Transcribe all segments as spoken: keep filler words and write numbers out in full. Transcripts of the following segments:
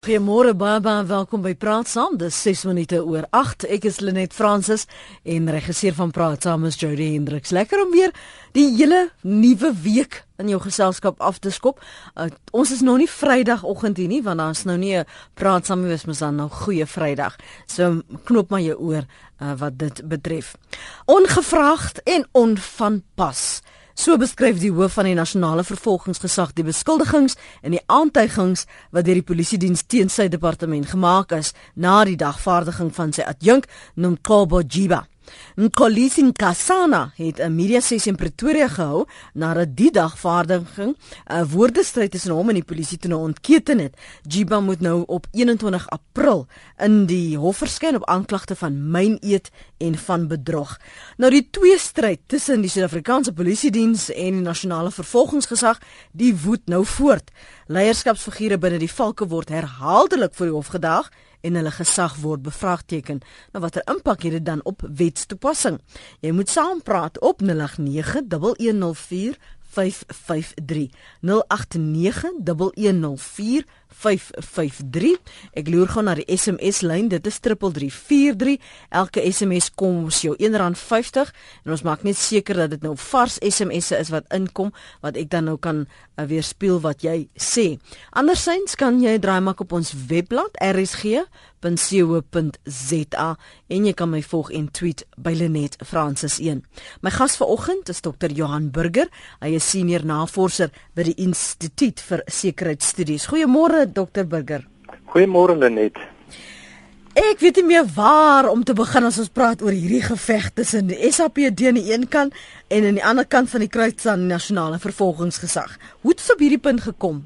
Goeiemôre baie baie welkom by Praat Saam. Dis ses minute oor agt. Ek is Lenet Fransis en regisseur van Praat Saam is Jody Hendriks. Lekker om weer die hele nuwe week in jou geselskap af te skop. Uh, ons is nog nie Vrydagoggend hier nie, want daar's nou nie 'n Praat Saam nie, is mos dan nou goeie Vrydag. So knoop maar jou oor uh, wat dit betref. Ongevraagd en onvanpas. So beskryf die hoof van die nasionale vervolgingsgesag die beskuldigings en die aantuigings wat deur die polisiediens teen sy departement gemaak is na die dagvaardiging van sy adjunk Nomgcobo Jiba. Mxolisi Nkosana het 'n media sessie in Pretoria gehou nadat die dagvaardiging 'n woordestryd tussen hom en die polisie toe nou ontketen het. Jiba moet nou op eenentwintig April in die hof verskyn op aanklagte van myneed en van bedrog. Nou die tweestryd tussen die Suid-Afrikaanse polisiediens en die nasionale vervolgingsgesag, die woed nou voort. Leierskapsfigure binne die valke word herhaaldelik voor die hof gedaag en hulle gesag word bevraagteken. Nou watter impak het dit dan op wetstoepassing? Jy moet saampraat op nul agt nege, een een vier, vyf vyf drie. nul agt nege, een een vier, vyf vyf drie. Ek loer gou na die S M S-lyn, dit is drie drie vier drie. Elke S M S kom ons jou een rand vyftig en ons maak net seker dat dit nou vars S M S'e is wat inkom, wat ek dan nou kan uh, weerspieël wat jy sê. Andersins kan jy draai maak op ons webblad r s g punt co punt z a en jy kan my volg en tweet by Lenet Fransis een. My gas vanoggend is dokter Johan Burger. Hy is senior navorser by die Instituut vir Sekuriteitsstudies. Goeiemôre dokter Burger. Goeiemôre Lenet. Ek weet nie meer waar om te begin as ons praat oor hierdie geveg tussen die S A P D aan die een kant en aan die ander kant van die kruis aan die nasionale vervolgingsgesag. Hoe het dit op hierdie punt gekom?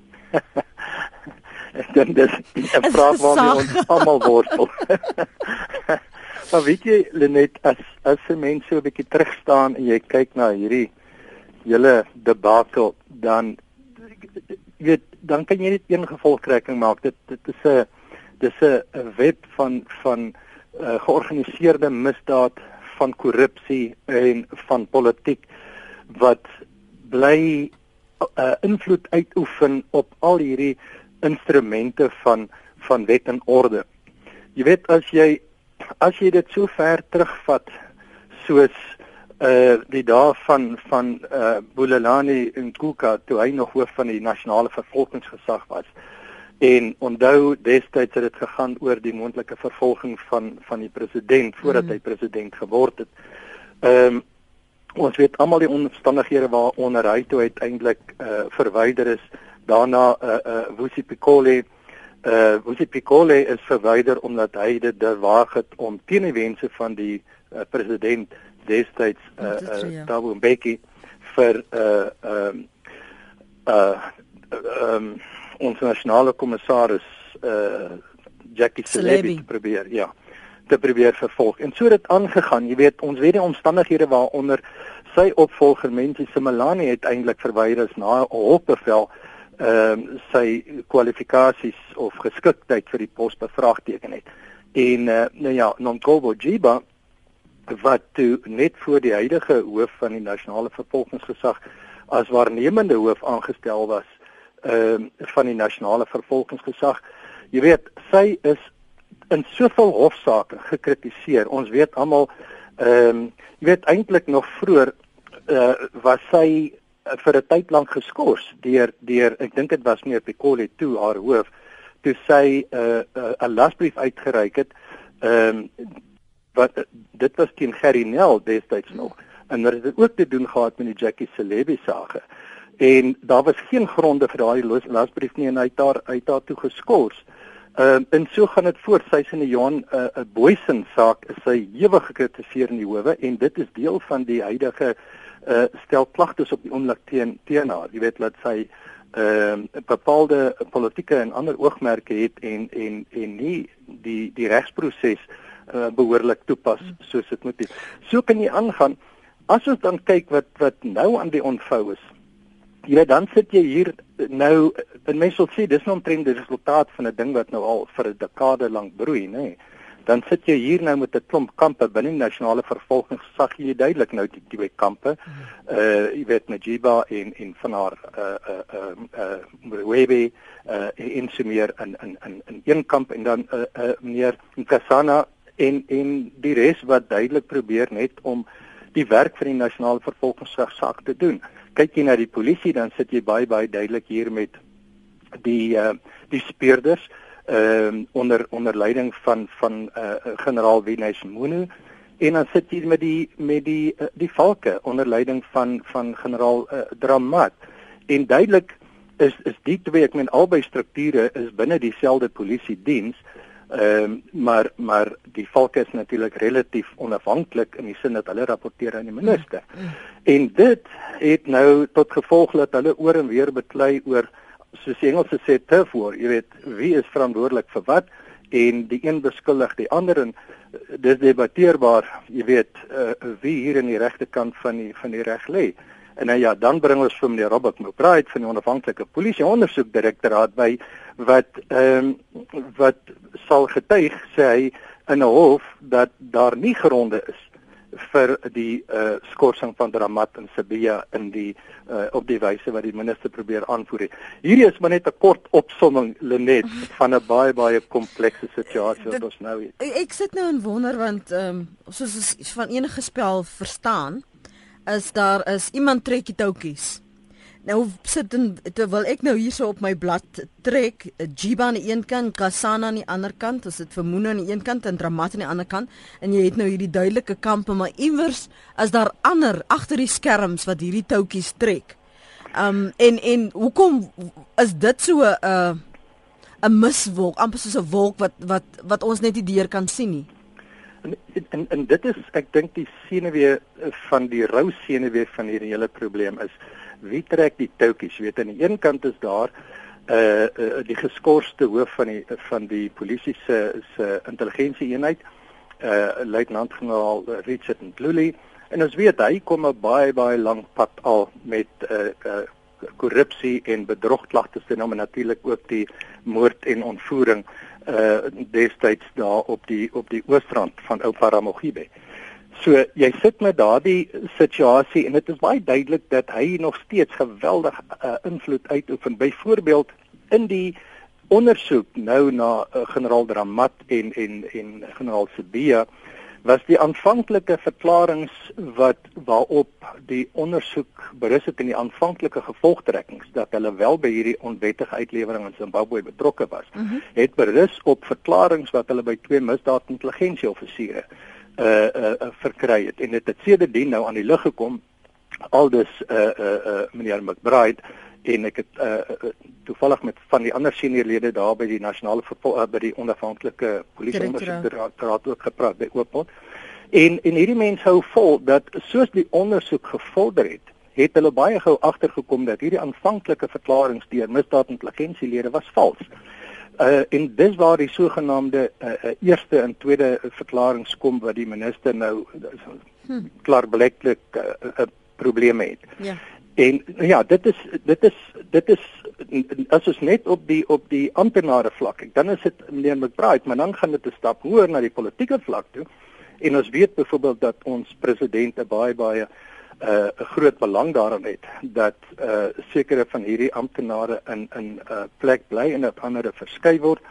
Ek dink dis 'n vraag waarmee ons almal worstel. Maar weet jy Lenet, as as 'n mens so 'n bietjie terugstaan en jy kyk na hierdie hele debakel, dan weet dan kan jy net een gevolgtrekking maak. Dit dit is 'n dis 'n web van van uh, georganiseerde misdaad, van korrupsie en van politiek wat bly uh, invloed uitoefen op al hierdie instrumente van van wet en orde. Jy weet, as jy as jy dit so ver terugvat soos uh die dae van van uh Bulelani Ngcuka, toe hy nog hoof van die nasionale vervolgingsgesag was. En onthou destyds het dit gegaan oor die moontlike vervolging van van die president voordat mm. hy president geword het. Ehm um, ons weet almal die omstandighede waaronder hy toe uiteindelik uh verwyder is. Daarna uh, uh, Vusi Pikole, uh, Vusi Pikole is verwyder omdat hy dit durwaag het om teen die wense van die uh, president destyds uh, uh, Thabo Mbeki vir uh, um, uh, um, ons nasionale kommissaris uh, Jackie Selebi te probeer, ja, te probeer vervolg. En so het dit aangegaan. Jy weet, ons weet die omstandighede waaronder sy opvolger Menzi Simelane uiteindelik verwyder is na 'n hofbevel. Ehm um, sy kwalifikasies of geskiktheid vir die pos bevraagteken het. En uh, nou ja, Nomgcobo Jiba wat toe net voor die huidige hoof van die nasionale vervolgingsgesag as waarnemende hoof aangestel was ehm um, van die nasionale vervolgingsgesag. Jy weet, sy is in soveel hofsaake gekritiseer. Ons weet almal ehm um, jy weet eintlik nog vroeër uh, was sy vir 'n tyd lank geskort deur deur ek dink dit was meneer Pikole toe haar hoof toe sy 'n uh, 'n uh, lasbrief uitgereik het. Ehm um, wat dit was teen Gerry Nel destyds nog en dit het ook te doen gehad met die Jackie Selebi saak. En daar was geen gronde vir daardie lasbrief nie en hy het daar uit daar toe geskort. Ehm um, en so gaan dit voort. Sy is in die Johan 'n uh, uh, Booysen saak is sy ewig gekritiseer in die howe en dit is deel van die huidige Uh, stel klagtes op die oomblik teen teen haar. Jy weet dat sy ehm uh, bepaalde politieke en ander oogmerke het en en en nie die die regsproses uh, behoorlik toepas soos dit moet wees. So kan jy aangaan. As ons dan kyk wat wat nou aan die ontvou is. Jy weet, dan sit jy hier nou, en mense sal sê dis nou omtrent die resultaat van 'n ding wat nou al vir 'n dekade lank broei, nê. dan sit jy hier nou met 'n klomp kampe binne die nasionale vervolgingsgesag, jy duidelik nou die twee kampe. Uh jy weet Najiba en en van haar uh uh uh, uh Mwewe uh en so meer in in in in een kamp en dan uh, uh meneer Nkosana en en die res wat duidelik probeer net om die werk van die nasionale vervolgingsgesag te doen. Kyk jy na die polisie, dan sit jy baie baie duidelik hier met die uh die speurders ehm uh, onder onder leiding van van uh, generaal Winnes Munu, en dan sit jy met die met die uh, die valke onder leiding van van generaal uh, Dramat. En duidelik is is die twee, ek meen albei strukture is binne dieselfde polisiediens, ehm um, maar maar die valke is natuurlik relatief onafhanklik in die sin dat hulle rapporteer aan die minister. Mm. En dit het nou tot gevolg dat hulle oor en weer beklei oor, soos die Engelse sê, turf war, jy weet, wie is verantwoordelik vir wat, en die een beskuldig die ander, en dis debatteerbaar, jy weet, uh, wie hier in die regterkant van die van die reg lê. En nou ja, dan bring ons vir meneer Robert McBride van die onafhanklike polisie ondersoekdirektoraat by, wat ehm um, wat sal getuig, sê hy, in 'n hof, dat daar nie gronde is vir die uh, skorsing van Dramat en Sibiya in die uh, op die wyse wat die minister probeer aanvoer het. Hierdie is maar net 'n kort opsomming, Lenet, van 'n baie baie komplekse situasie wat ons nou het. Ek sit nou en wonder, want ehm um, soos ons van enige spel verstaan, is daar is iemand trek die touwtjies. Nou sit en, terwyl ek nou hierso op my blad trek, Jiba aan die een kant, Kasana aan die ander kant, as dit Vermoene aan die een kant en Dramat aan die ander kant, en jy het nou hierdie duidelike kampe, maar iewers is daar ander agter die skerms wat hierdie touwtjies trek. Um en en hoekom is dit so 'n uh, 'n miswolk, amper soos 'n wolk wat wat wat ons net nie deur kan sien nie? En, en en dit is, ek dink, die senuwee van die rou senuwee van hierdie hele probleem is, wie trek die touwtjies? Jy weet, aan die een kant is daar uh, uh die geskorste hoof van die van die polisie se se intelligensieeenheid, uh luitenant-generaal Richard Ndluli, en ons weet hy kom 'n baie baie lank pad al met uh, uh korrupsie en bedrogklagtes, en nou natuurlik ook die moord en ontvoering uh destyds daar op die op die oostrand van Ou Paramogibe. So jy sit met daardie situasie, en dit is baie duidelik dat hy nog steeds geweldig uh, invloed uitoefen. Byvoorbeeld in die ondersoek nou na uh, generaal Dramat en en en generaal Sibiya, was die aanvanklike verklaringe wat waarop die ondersoek berus het in die aanvanklike gevolgtrekkings, dat hulle wel by hierdie onwettige uitlewering in Zimbabwe betrokke was, mm-hmm. het berus op verklaringe wat hulle by twee misdaadintelligensieoffisiere uh, uh, uh, verkry het. En dit het sedertdien nou aan die lig gekom, aldus uh, uh, uh, meneer McBride, en ek het uh, toevallig met van die ander seniorlede daar by die nasionale uh, by die onafhanklike polisieondersoekdirektoraat ook gepraat by Oopmond. En en hierdie mense hou vol dat soos die ondersoek gevorder het, het hulle baie gou agtergekom dat hierdie aanvanklike verklaringe deur misdaadintelligensielede was vals. Uh, en dis waar die sogenaamde uh, uh, eerste en tweede verklaringe kom wat die minister nou uh, klaarblijklik uh, uh, probleme het. Ja. En ja, dit is dit is dit is as ons net op die op die amptenare vlak, dan is dit meneer McBride, maar dan gaan dit 'n stap hoër na die politieke vlak toe. En ons weet byvoorbeeld dat ons president 'n baie baie 'n uh, groot belang daarin het dat uh, sekere van hierdie amptenare in in 'n uh, plek bly en op ander verskuif word.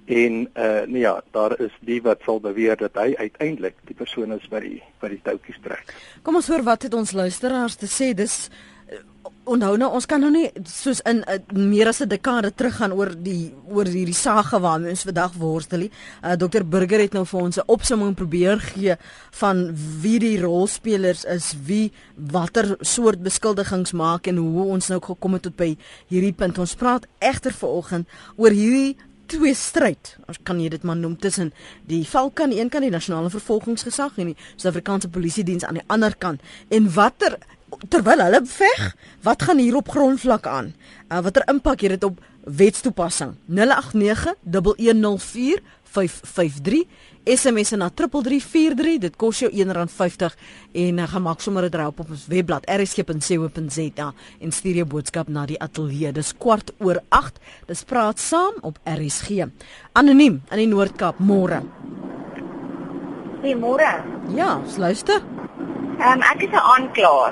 En uh, nee ja, daar is die wat sal beweer dat hy uiteindelik die persoon is wat die wat die touwtjies trek. Kom ons hoor wat het ons luisteraars te sê. Dis onthou nou, ons kan nou nie soos in uh, meer as 'n dekade teruggaan oor die oor hierdie sage waarmee ons vandag worstel nie. Uh, dokter Burger het nou vir ons 'n opsomming probeer gee van wie die rolspelers is, wie watter soort beskuldigings maak en hoe ons nou gekom het tot by hierdie punt. Ons praat egter vanoggend oor hierdie twee stryd, ons kan jy dit maar noem, tussen die Valke aan die een kant, die nasionale vervolgingsgesag, en die Suid-Afrikaanse polisiediens aan die ander kant. En watter terwyl hulle veg, wat gaan hier op grondvlak aan? Uh, watter impak het dit op wetstoepassing? nul agt nege, een een nul vier, vyf vyf drie, S M S na drie drie vier drie, dit kos jou een rand vyftig, en uh, gaan maak sommer 'n draai op op ons webblad r s g punt c o punt z a en stuur jou boodskap na die ateljee. Dis kwart oor agt, dis praat saam op R S G. Anoniem in die Noord-Kaap, môre. Goeiemôre. Ja, luister. Ehm um, ek is 'n aanklaer.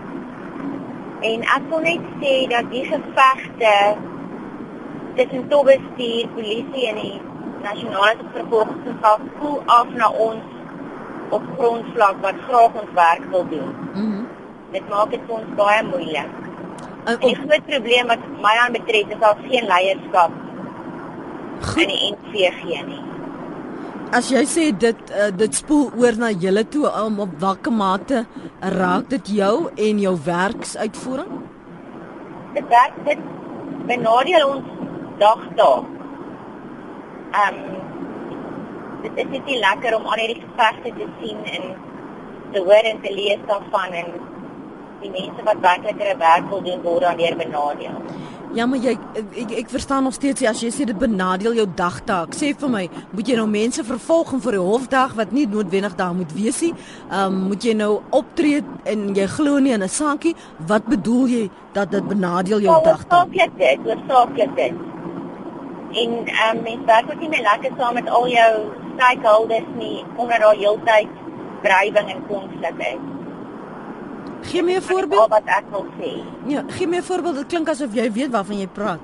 En ek wil net sê dat die gevegte tussen topbestuur, polisie en die nasionale vervolgingsgesag voel af na ons op grondvlak wat graag ons werk wil doen. Mhm. Mm Dit maak dit vir ons baie moeilik. Uh, En die groot probleem wat my aanbetref is daar geen leierskap in die N V G nie. As jy sê dit uh, dit spoel oor na julle toe, um, op watter mate raak dit jou en jou werksuitvoering? Dit werk dit benadeel ons dagtaak. Ehm um, dit is net nie lekker om al hierdie gevegte te sien en te hoor en te lees daarvan en die mense wat werklik hulle werk wil doen word daardeur benadeel. Ja, maar jy ek, ek verstaan nog steeds as jy sê dit benadeel jou dagtaak. Sê vir my, moet jy nou mense vervolg vir die hofdag wat nie noodwendig daar moet wees nie? Ehm um, moet jy nou optree en jy glo nie in 'n saakie? Wat bedoel jy dat dit benadeel jou dagtaak? Hoofsaaklik dit, hoofsaaklik dit. En ehm um, mense werk ook nie meer lekker saam met al jou stakeholders nie omdat daar heeltyd wrywing en konflik is. Gee my 'n voorbeeld. Wat ek wil sê. Ja, gee my 'n voorbeeld. Dit klink asof jy weet waarvan jy praat.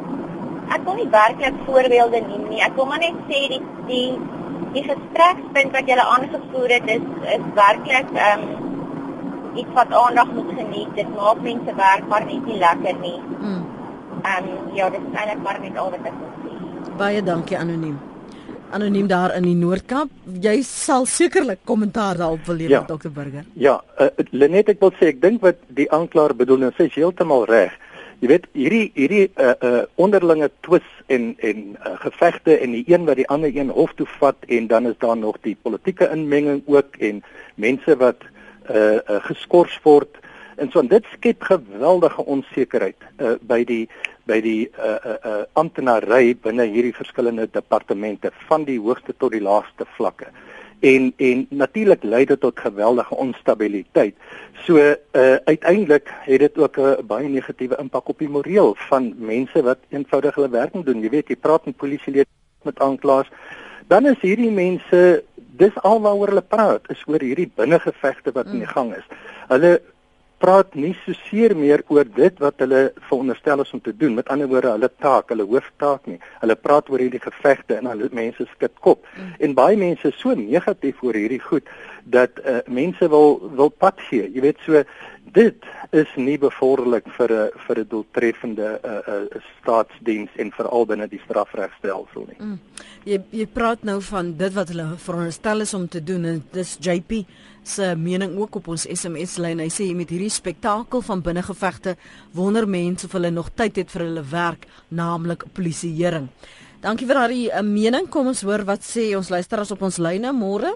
Ek wil nie werklik voorbeelde neem nie. Ek wil maar net sê die die die gesprekspunt wat julle aangevoer het is is werklik ehm um, iets wat aandag moet geniet. Dit maak mense werk maar net nie lekker nie. Mm. Ehm um, ja, dit is eintlik maar net al wat ek wil sê. Baie dankie anoniem. Anoniem daar in die Noord-Kaap. Jy sal sekerlik kommentaar daarop wil lewer, Ja. dokter Burger. Ja, uh, Lenet, ek wil sê ek dink wat die aanklaer bedoel en sy is heeltemal reg. Jy weet hierdie hierdie uh, uh, onderlinge twis en en uh, gevegte en die een wat die ander een hof toe vat en dan is daar nog die politieke inmenging ook en mense wat uh, uh, geskort word en so en dit skep geweldige onsekerheid uh, by die by die uh, uh, uh, amptenary binne hierdie verskillende departemente van die hoogste tot die laagste vlakke. En en natuurlik lei dit tot geweldige onstabiliteit. So uh, uiteindelik het dit ook 'n uh, baie negatiewe impak op die moreel van mense wat eenvoudig hulle werk moet doen. Jy weet, jy praat met polisielede, met aanklaers, dan is hierdie mense, dis alwaaroor hulle praat, is oor hierdie binnengevegte wat mm. in die gang is. Hulle praat nie so seer meer oor dit wat hulle veronderstel is om te doen. Met ander woorde, hulle taak, hulle hooftaak nie. Hulle praat oor hierdie gevegte en hulle mense skud kop. Mm. En baie mense is so negatief oor hierdie goed dat uh, mense wil wil pad gee. Jy weet, so dit is nie bevorderlik vir 'n vir 'n doeltreffende uh, uh, staatsdiens en veral binne die strafregstelsel nie. Mm. Jy jy praat nou van dit wat hulle veronderstel is om te doen en dis J P se mening ook op ons S M S-lyn. Hy sê met hierdie spektakel van binnengevegte wonder mense of hulle nog tyd het vir hulle werk, naamlik polisieering. Dankie vir daardie uh, mening. Kom ons hoor wat sê ons luisteraars op ons lyne môre.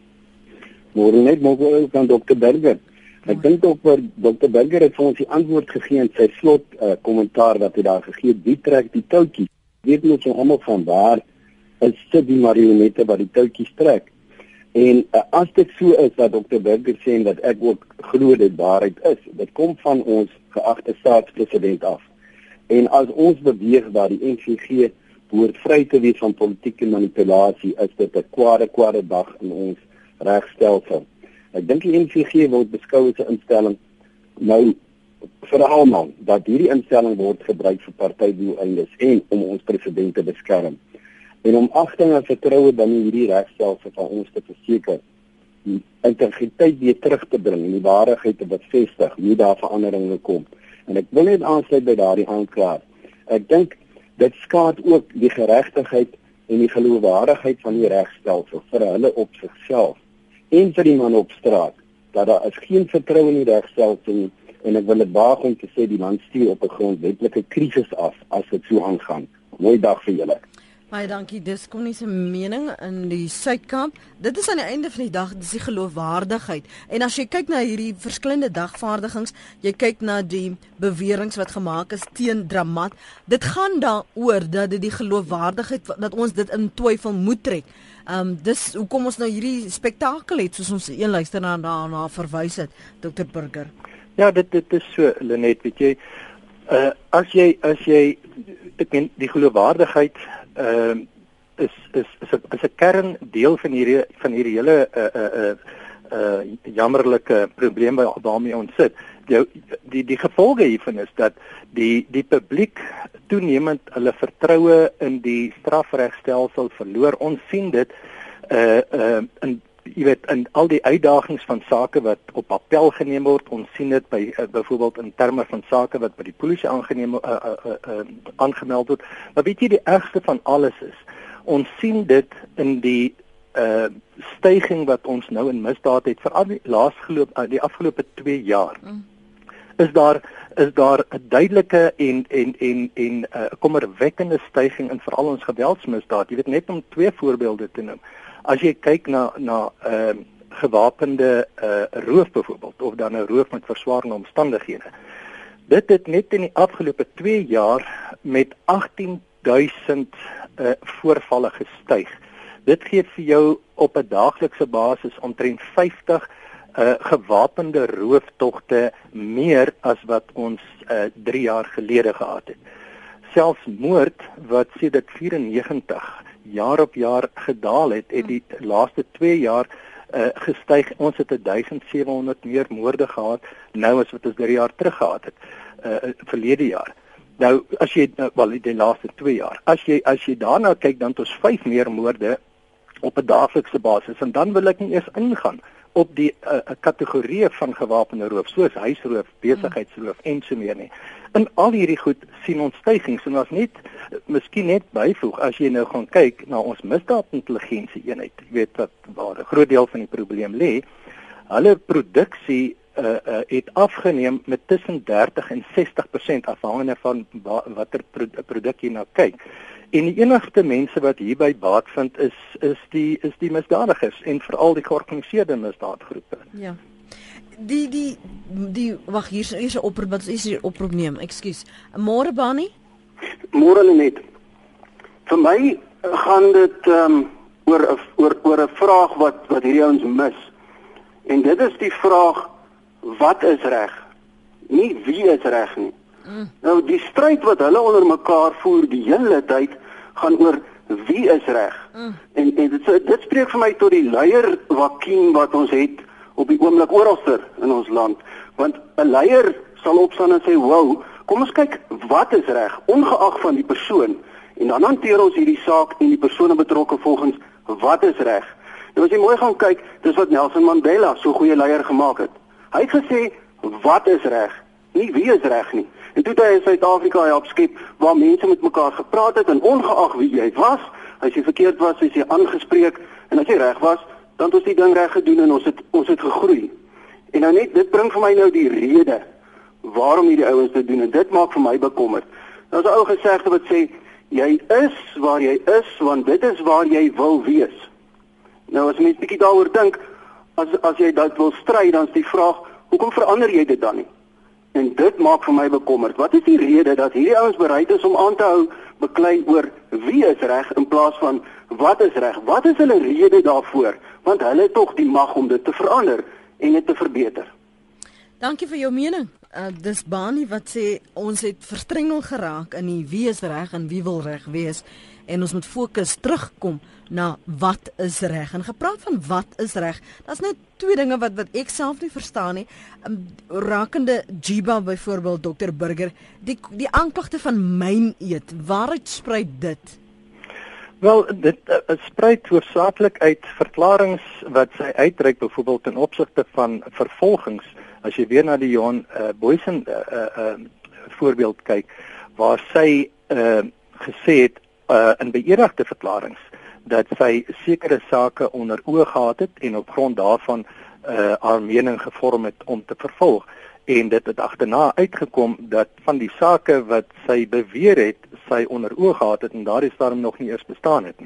Môre net môre van dokter Burger. Ek dink ook vir dokter Burger het vir ons die antwoord gegee in sy slot uh, kommentaar wat hy daar gegee het. Wie trek die touwtjies? Weet ons almal van waar is dit die marionette wat die touwtjies trek? En uh, as dit so is wat dokter Burger sê en dat ek ook glo dit waarheid is, dit kom van ons geagte staatspresident af. En as ons beweeg dat die N V G behoort vry te wees van politieke manipulasie, is dit 'n kwade kwade dag in ons regstelsel. Ek dink die N V G word beskou as 'n instelling nou vir almal dat hierdie instelling word gebruik vir partydoeleindes en om ons president te beskerm. En om agting en vertroue binne hierdie regstelsel van ons te verseker, die integriteit weer terug te bring en die waarheid te bevestig, nie daar veranderinge kom. En ek wil net aansluit by daardie aanklaer. Ek dink dit skaad ook die geregtigheid en die geloofwaardigheid van die regstelsel vir hulle op sigself en vir die man op straat, dat daar is geen vertroue in die regstelsel nie, en ek wil dit waag om te sê die land stuur op 'n grondwetlike krisis af as dit so aangaan. Mooi dag vir julle. Baie dankie. Dis kom nie se mening in die Suid-Kaap. Dit is aan die einde van die dag dis die geloofwaardigheid. En as jy kyk na hierdie verskillende dagvaardigings, jy kyk na die beweringe wat gemaak is teen Dramat, dit gaan daaroor dat dit die geloofwaardigheid dat ons dit in twyfel moet trek. Ehm um, dis hoekom ons nou hierdie spektakel het soos ons een luisteraar daarna verwys het, dokter Burger. Ja, dit dit is so Lenet, weet jy, uh, as jy as jy ek meen die geloofwaardigheid uh, is is is 'n is 'n kerndeel van hierdie van hierdie hele uh uh uh, uh jammerlike probleem waarmee ons sit. Die die die gevolge hiervan is dat die die publiek toenemend hulle vertroue in die strafregstelsel verloor. Ons sien dit uh uh in jy weet in al die uitdagings van sake wat op appel geneem word. Ons sien dit by uh, byvoorbeeld in terme van sake wat by die polisie aangeneem uh, uh, uh, uh, aangemeld word. Maar weet jy die ergste van alles is, ons sien dit in die uh stygings wat ons nou in misdaad het veral die laasgeloop uh, die afgelope twee jaar. Mm. Is daar is daar 'n duidelike en en en en 'n uh, kommerwekkende stygings in veral ons geweldsmisdaad. Jy weet net om twee voorbeelde te noem. As jy kyk na na ehm uh, gewapende uh, roof byvoorbeeld of dan 'n roof met verswaarende omstandighede. Dit het net in die afgelope twee jaar met agtien duisend uh, voorvalle gestyg. Dit gee vir jou op 'n daaglikse basis omtrent vyftig uh, gewapende rooftogte meer as wat ons uh, drie jaar gelede gehad het. Selfs moord wat sedert vyfennegentig jaar op jaar gedaal het, het die laaste twee jaar uh, gestyg. Ons het duisend sewe honderd meer moorde gehad nou as wat ons drie jaar terug gehad het, uh, verlede jaar. Nou as jy uh, wel die laaste twee jaar. As jy as jy daarna kyk, dan het ons vyf meer moorde op 'n daaglikse basis en dan wil ek nie eers ingaan op die uh, kategorieë van gewapende roof soos huisroof, besigheidsroof en so meer nie. In al hierdie goed sien ons stygings en ons net miskien net byvoeg as jy nou gaan kyk na ons misdaadintelligensie eenheid. Jy weet wat waar 'n groot deel van die probleem lê. Hulle produksie uh, uh, het afgeneem met tussen dertig en sestig persent afhangende van watter pro produk jy nou kyk. En die enigste mense wat hierby baat vind is is die is die misdadigers en veral die georganiseerde misdaadgroepe. Ja. Die die die wag hier is hier 'n oproep wat is hier oproep neem. Ekskuus. Môre Bani? Môre net. Vir my gaan dit ehm um, oor oor oor 'n vraag wat wat hierdie ouens mis. En dit is die vraag wat is reg? Nie wie is reg nie. Mm. Nou die stryd wat hulle onder mekaar voer die hele tyd gaan oor wie is reg. Mm. En en dit dit spreek vir my tot die leier vakuum wat ons het op die oomblik oralster in ons land. Want 'n leier sal opstaan en sê, "Wow, kom ons kyk wat is reg, ongeag van die persoon." En dan hanteer ons hierdie saak en die persone betrokke volgens wat is reg. Nou as jy mooi gaan kyk, dis wat Nelson Mandela so goeie leier gemaak het. Hy het gesê, "Wat is reg, nie wie is reg nie." En toe het hy in Suid-Afrika help skep waar mense met mekaar gepraat het en ongeag wie jy was, as jy verkeerd was, is jy aangespreek en as jy reg was, dan het ons die ding reg gedoen en ons het ons het gegroei. En nou net dit bring vir my nou die rede waarom hierdie ouens dit doen en dit maak vir my bekommerd. Daar's 'n ou gesegde wat sê jy is waar jy is want dit is waar jy wil wees. Nou as mens bietjie daaroor dink, as as jy dit wil stry, dan is die vraag, hoekom verander jy dit dan nie? En dit maak vir my bekommerd. Wat is die rede dat hierdie ouens bereid is om aan te hou beklei oor wie is reg in plaas van wat is reg? Wat is hulle rede daarvoor? Want hulle het tog die mag om dit te verander en dit te verbeter. Dankie vir jou mening. Uh, dis Bani wat sê ons het verstrengel geraak in die wie is reg en wie wil reg wees en ons moet fokus terugkom na wat is reg. En gepraat van wat is reg, daar's nou twee dinge wat wat ek self nie verstaan nie. Um, rakende Jiba byvoorbeeld, dokter Burger, die die aanklagte van myn eet, waaruit spruit dit? Wel, dit uh, spruit hoofsaaklik uit verklaringe wat sy uitreik byvoorbeeld ten opsigte van vervolgings. As jy weer na die Johan uh, Boysen uh, uh, uh, voorbeeld kyk, waar sy uh, gesê het uh, in beëdigde verklaringe dat sy sekere sake onder oë gehad het en op grond daarvan uh, haar mening gevorm het om te vervolg. En dit het agterna uitgekom dat van die sake wat sy beweer het, sy onder oë gehad het en daardie stadium nog nie eers bestaan het nie.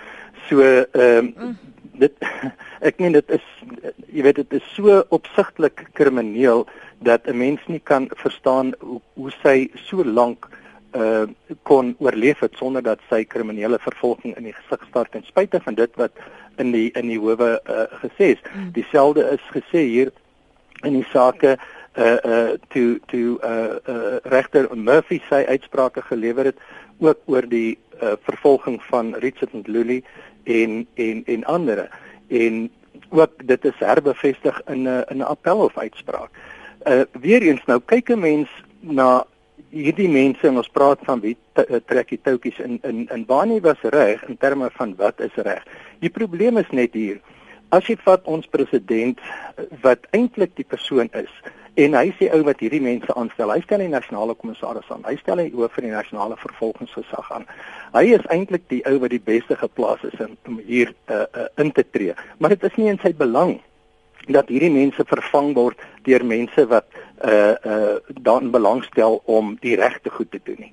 So ehm um, dit ek meen dit is jy weet dit is so opsigtelik krimineel dat 'n mens nie kan verstaan hoe, hoe sy so lank uh kon oorleef het sonder dat sy kriminele vervolging in die gesig staar ten spyte van dit wat in die in die howe uh, gesê is. Mm. Dieselfde is gesê hier in die sake uh uh toe toe uh, uh regter Murphy sy uitsprake gelewer het ook oor die uh, vervolging van Richard Ndluli en en en ander. En ook dit is herbevestig in 'n in 'n appelhof uitspraak. Uh weer eens nou kyk 'n mens na hierdie mense en ons praat van wie trek die toutjies in in in Bani was reg in terme van wat is reg. Die probleem is net hier. As jy vat ons president wat eintlik die persoon is en hy sê ou wat hierdie mense aanstel, hy stel die nasionale kommissaris aan, hy stel die hoof van die nasionale vervolgingsgesag aan. Hy is eintlik die ou wat die beste geplaas is om hier uh, uh, in te tree. Maar dit is nie in sy belang dat hierdie mense vervang word deur mense wat uh, uh, daarin belangstel om die regte goed te doen nie.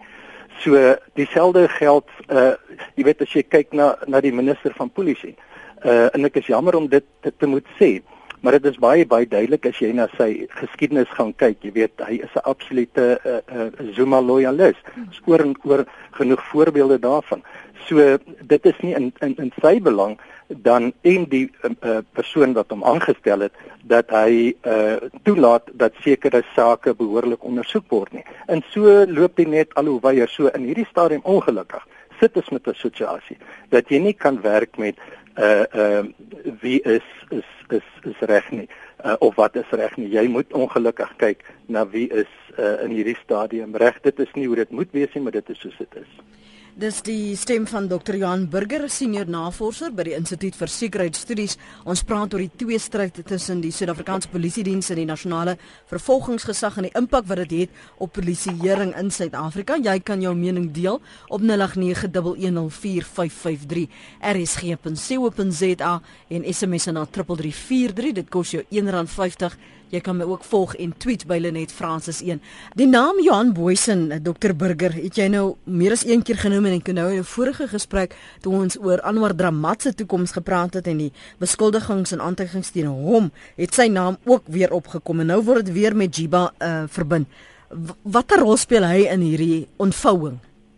So dieselfde geld, uh, jy weet as jy kyk na na die minister van polisie. Uh, en ek is jammer om dit te, te moet sê, maar dit is baie baie duidelik as jy na sy geskiedenis gaan kyk. Jy weet hy is 'n absolute uh, uh, Zuma loyalis. Oor en oor genoeg voorbeelde daarvan. So dit is nie in in, in sy belang dan en die uh, persoon wat hom aangestel het dat hy uh, toelaat dat sekere sake behoorlik ondersoek word nie. En so loop dit net al hoe weier. So in hierdie stadium ongelukkig sit ons met 'n situasie dat jy nie kan werk met uh uh wie is is is is reg nie uh, of wat is reg nie. Jy moet ongelukkig kyk na wie is uh, in hierdie stadium reg. Dit is nie hoe dit moet wees nie, maar dit is soos dit is. Dis die stem van dokter Johan Burger, senior navorser by die Instituut vir Sekuriteitsstudies. Ons praat oor die tweestryd tussen die Suid-Afrikaanse Polisiediens en die Nasionale Vervolgingsgesag en die impak wat dit het op polisieering in Suid-Afrika. Jy kan jou mening deel op nul agt nege een een nul vier vyf vyf drie r s g punt c o punt z a en S M S na drie drie drie vier drie. Dit kos jou een rand vyftig. Jy kan my ook volg en tweet by Lenet Francis een. Die naam Johan Booysen, dokter Burger, het jy nou meer as een keer genoem en ek kan nou in 'n vorige gesprek toe ons oor Anwar Dramat se toekoms gepraat het en die beskuldigings en aantuigings teen hom, het sy naam ook weer opgekom en nou word dit weer met Jiba uh, verbind. Watter rol speel hy in hierdie ontvouing?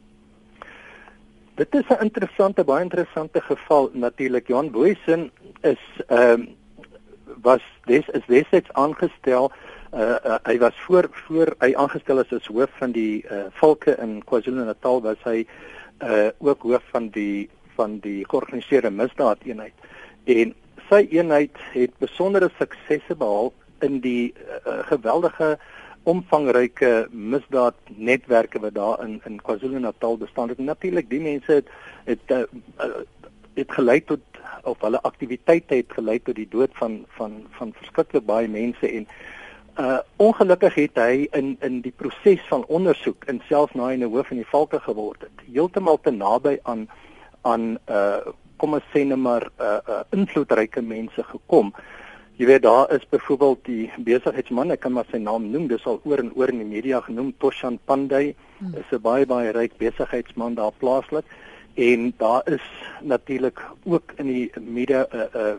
Dit is 'n interessante, baie interessante geval natuurlik. Johan Booysen is ehm uh, was des is destyds aangestel uh, uh, hy was voor voor hy aangestel is as hoof van die uh, Valke in KwaZulu-Natal was hy uh, ook hoof van die van die georganiseerde misdaad eenheid en sy eenheid het besondere suksesse behaal in die uh, geweldige omvangryke misdaadnetwerke wat daar in in KwaZulu-Natal bestaan het. Natuurlik die mense het het uh, uh, het gelei tot of hulle aktiwiteite het gelei tot die dood van van van verskriklik baie mense en uh ongelukkig het hy in in die proses van ondersoek en selfs na hy 'n hoof van die Valke geword het heeltemal te naby aan aan uh kom ons sê net maar uh, uh invloedryke mense gekom. Jy weet daar is byvoorbeeld die besigheidsman, ek kan maar sy naam noem, dis al oor en oor in die media genoem, Toshan Pandey, hmm. is 'n baie baie ryk besigheidsman daar plaaslik. En daar is natuurlik ook in die media uh, uh,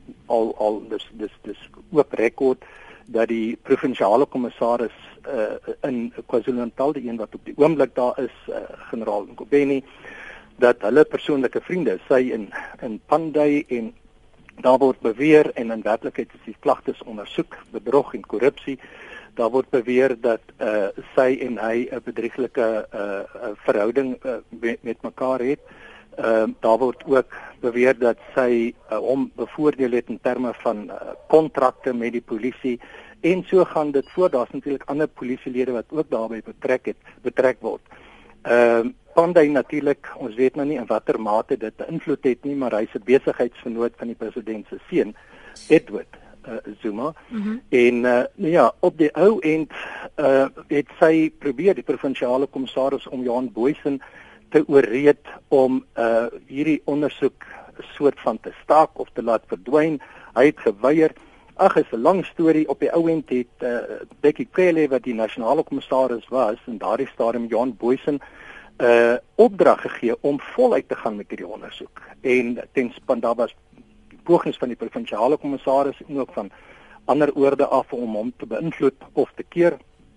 al al dis dis dis ook rekord dat die provinsiale kommissaris uh, in KwaZulu-Natal, die een wat op die oomblik daar is, uh, generaal Nkobeni, dat hulle persoonlike vriende, sy in in Pandey en daar word beweer en in werklikheid is die klagtes ondersoek, bedrog en korrupsie. Daar word beweer dat uh, sy en hy 'n bedrieglike uh, verhouding uh, met, met mekaar het. Uh, daar word ook beweer dat sy uh, hom bevoordeel het in terme van kontrakte uh, met die polisie en so gaan dit voort. Daar's natuurlik ander polisielede wat ook daarbey betrek het, betrek word. Ehm uh, Pandey natuurlik, ons weet nou nie in watter mate dit 'n invloed het nie, maar hy's 'n besigheidsvernoot van die president se seun, Edward Uh, Zuma mm-hmm. en uh, ja op die ou end uh, het sy probeer die provinsiale kommissaris om Johan Booysen te ooreed om uh, hierdie ondersoek soort van te staak of te laat verdwyn. Hy het geweier. Ag, is 'n lang storie. Op die ou end het uh, Becky Cele wat die nasionale kommissaris was in daardie stadium Johan Booysen uh, opdrag gegee om voluit te gaan met hierdie ondersoek en ten span daar was pogings van die provinsiale kommissaris en ook van ander oorde af om hom te beïnvloed of te keer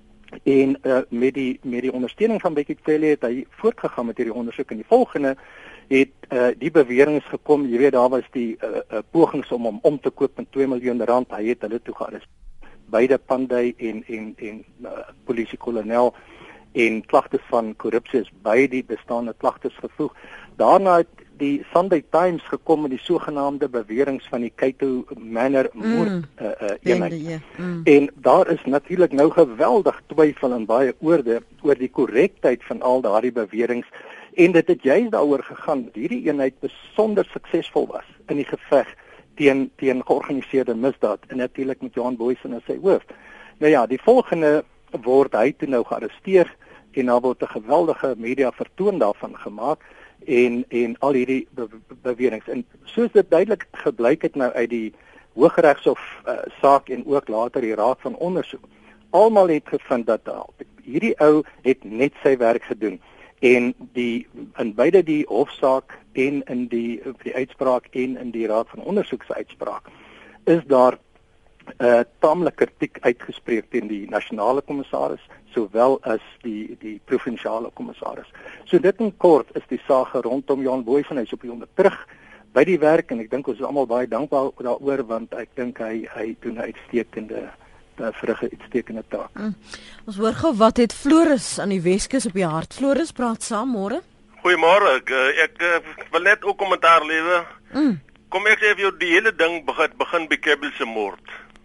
en uh, met die met die ondersteuning van Becky Cele het hy voortgegaan met hierdie ondersoek en die volgende het uh, die beweringe gekom, jy weet daar was die uh, uh, pogings om hom om te koop met twee miljoen rand, hy het hulle toe gearresteer, beide Pandey en en en uh, polisiekolonel en klagtes van korrupsie is by die bestaande klagtes gevoeg. Daarna het die Sunday Times gekom met die sogenaamde beweringe van die Cato Manor moord mm, uh, uh, eenheid. Yeah. Mm. En daar is natuurlik nou geweldig twyfel en baie oorde oor die korrektheid van al daardie beweringe. En dit het juist daaroor gegaan dat hierdie eenheid besonder suksesvol was in die geveg teen teen georganiseerde misdaad en natuurlik met Johan Booysen as sy hoof. Nou ja, die volgende word hy toe nou gearresteer en daar word 'n geweldige media vertoon daarvan gemaak en en al hierdie be beweringe. En soos dit duidelik gebleik het nou uit die Hooggeregshof uh, saak en ook later die Raad van Ondersoek, almal het gevind dat uh, hierdie ou het net sy werk gedoen. En die in beide die hofsaak en in die die uitspraak en in die Raad van Ondersoek se uitspraak is daar 'n uh, taamlike kritiek uitgespreek teen die nasionale kommissaris sowel as die die provinsiale kommissaris. So dit in kort is die saak rondom Johan Booysen. Hy's op die oomblik terug by die werk en ek dink ons is almal baie dankbaar daaroor want ek dink hy hy doen 'n uitstekende verrig 'n uitstekende taak. Mm. Ons hoor gou wat het Floris aan die Weskus op die hart. Floris, praat saam môre. Goeiemôre. Ek ek, ek wil net ook kommentaar lewer. Mm. Kom ek sê vir jou die hele ding begin begin by Kebbel se moord.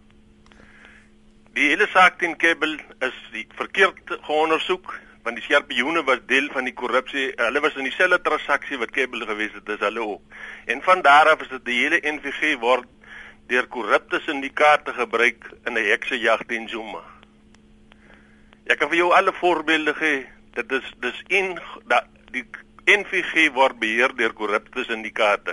Die hele saak teen Kebbel is die verkeerd geondersoek want die Skorpioene was deel van die korrupsie. Hulle was in dieselfde transaksie wat Kebbel gewees het, dis hulle ook. En van daar af is dit die hele N V G word deur korrupte syndikaate gebruik in 'n heksejag teen Zuma. Ek kan vir jou alle voorbeelde gee. Dit is dis in dat die N V G word beheer deur korrupte syndikaate.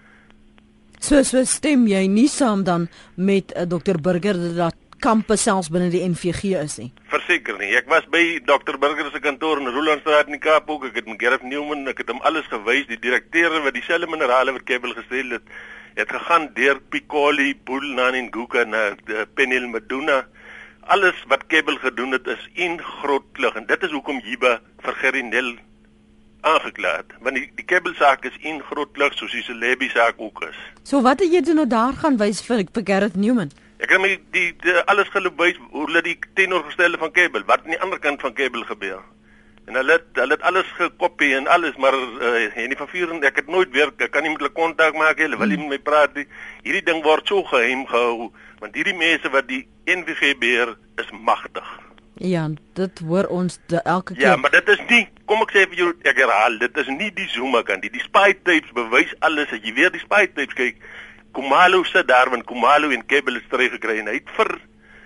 So so stem jy nie saam dan met uh, dokter Burger dat kampe selfs binne die N V G is nie? Verseker nie. Ek was by dokter Burger se kantoor in Rolandstraat in die Kaap ook. Ek het met Gareth Newman, ek het hom alles gewys, die direkteure wat dieselfde minerale wat Kebbel gestel het. Het gegaan deur Piccoli, Boelnan en Guka na Penel Meduna. Alles wat Kebbel gedoen het is een groot klug en dit is hoekom Jiba vir Gerinel aangekla het. Want die, die Kebbel saak is een groot klug soos die Celebi saak ook is. So wat het jy doen nou daar gaan wys vir, vir Gareth Newman? Ek het my die, die, die alles geloop wys hoe hulle die teenoorgestelde van Kebbel, wat aan die ander kant van Kebbel gebeur. En hulle het, hulle het alles gekopie en alles, maar uh, en die van vier, ek het nooit weer, ek kan nie met hulle kontak maak, hulle wil nie met my praat nie. Hierdie ding word so geheim gehou, want hierdie mense wat die N V G beheer, is magtig. Ja, dit hoor ons de, elke keer. Ja, maar dit is nie, kom ek sê vir jou, ek herhaal, dit is nie die Zuma kant, die, die spy tapes bewys alles, as jy weer die spy tapes kyk, Khumalo sit daar, want Khumalo en Kebbel is teruggekry, en hy het vir